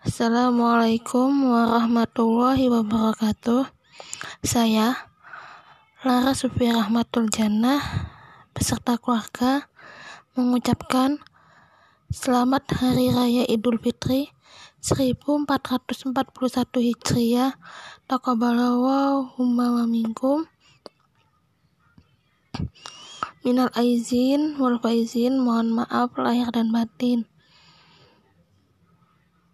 Assalamualaikum warahmatullahi wabarakatuh. Saya Lara Sufi Rahmatul Jannah beserta keluarga mengucapkan selamat Hari Raya Idul Fitri 1441 Hijriah. Taqabbalallahu wa minkum. Minal aizin wal faizin, mohon maaf lahir dan batin.